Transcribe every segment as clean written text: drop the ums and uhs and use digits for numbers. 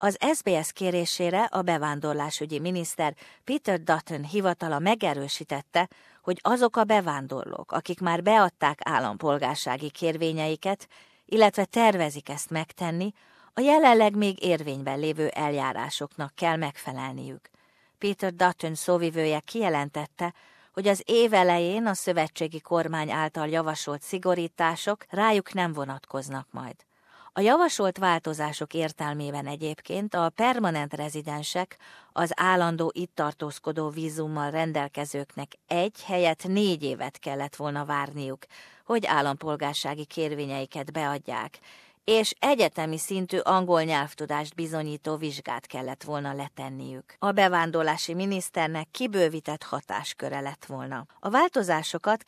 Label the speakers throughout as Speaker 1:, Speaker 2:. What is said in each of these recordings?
Speaker 1: Az SBS kérésére a bevándorlásügyi miniszter Peter Dutton hivatala megerősítette, hogy azok a bevándorlók, akik már beadták állampolgársági kérvényeiket, illetve tervezik ezt megtenni, a jelenleg még érvényben lévő eljárásoknak kell megfelelniük. Peter Dutton szóvivője kijelentette, hogy az év elején a szövetségi kormány által javasolt szigorítások rájuk nem vonatkoznak majd. A javasolt változások értelmében egyébként a permanent rezidensek, az állandó itt tartózkodó vízummal rendelkezőknek 1 helyett 4 évet kellett volna várniuk, hogy állampolgársági kérvényeiket beadják, és egyetemi szintű angol nyelvtudást bizonyító vizsgát kellett volna letenniük. A bevándorlási miniszternek kibővített hatásköre lett volna. A változásokat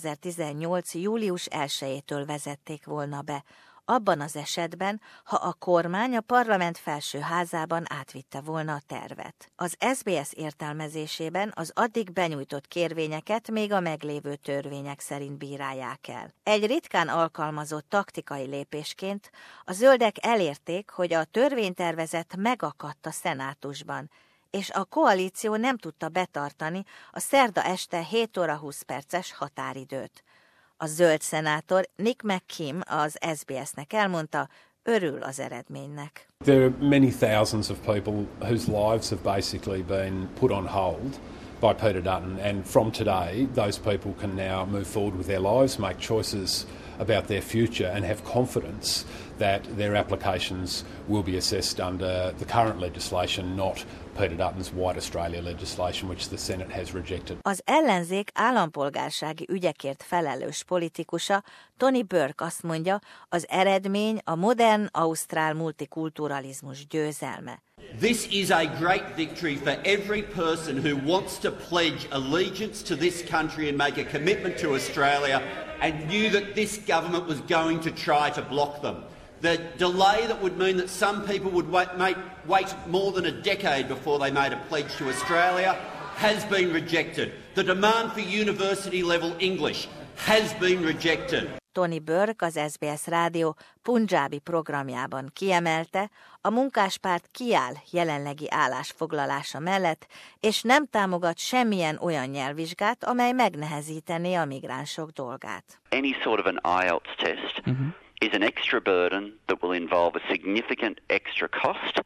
Speaker 1: 2018. július 1-től vezették volna be, abban az esetben, ha a kormány a parlament felső házában átvitte volna a tervet. Az SBS értelmezésében az addig benyújtott kérvényeket még a meglévő törvények szerint bírálják el. Egy ritkán alkalmazott taktikai lépésként a zöldek elérték, hogy a törvénytervezet megakadt a szenátusban, és a koalíció nem tudta betartani a szerda este 7 óra 20 perces határidőt. A zöld szenátor Nick McKim az SBS-nek elmondta, örül az eredménynek.
Speaker 2: There are many thousands of people whose lives have basically been put on hold by Peter Dutton, and from today those people can now move forward with their lives, make choices about their future and have confidence that their applications will be assessed under the current legislation, not Peter Dutton's White Australia legislation, which the Senate has rejected.
Speaker 1: Az ellenzék állampolgársági ügyekért felelős politikusa Tony Burke azt mondja, az eredmény a modern ausztrál multikulturalizmus győzelme.
Speaker 3: This is a great victory for every person who wants to pledge allegiance to this country and make a commitment to Australia and knew that this government was going to try to block them. The delay that would mean that some people would wait more than a decade before they made a pledge to Australia has been rejected. The demand for university level English has been rejected.
Speaker 1: Tony Burke az SBS rádió punjábi programjában kiemelte, a munkáspárt kiáll jelenlegi állásfoglalása mellett, és nem támogat semmilyen olyan nyelvvizsgát, amely megnehezítené a migránsok dolgát.
Speaker 4: Any sort of an IELTS test is an extra burden that will involve a significant extra cost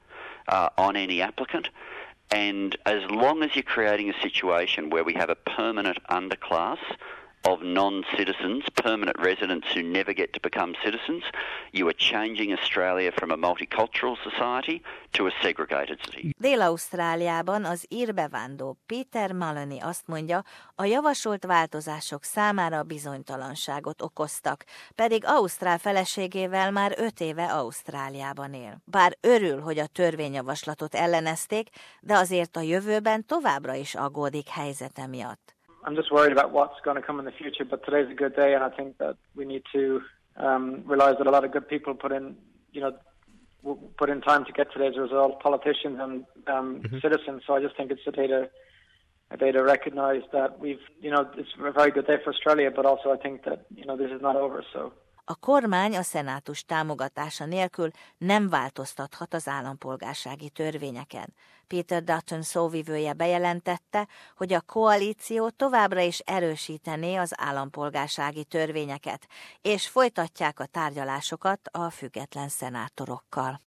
Speaker 4: on any applicant. And as long as you're creating a situation where we have a permanent underclass of non-citizens, permanent residents who never get to become citizens, you are changing Australia from a multicultural society to a segregated city.
Speaker 1: Dél-Ausztráliában az ír bevándorló Peter Maloney azt mondja, a javasolt változások számára bizonytalanságot okoztak, pedig ausztrál feleségével már 5 éve Ausztráliában él. Bár örül, hogy a törvényjavaslatot ellenezték, de azért a jövőben továbbra is aggódik helyzete miatt.
Speaker 5: I'm just worried about what's going to come in the future, but today's a good day, and I think that we need to realize that a lot of good people put in time to get today's result, politicians and citizens. So I just think it's a day to recognize that it's a very good day for Australia, but also I think that this is not over. So.
Speaker 1: A kormány a szenátus támogatása nélkül nem változtathat az állampolgársági törvényeken. Peter Dutton szóvivője bejelentette, hogy a koalíció továbbra is erősítené az állampolgársági törvényeket, és folytatják a tárgyalásokat a független szenátorokkal.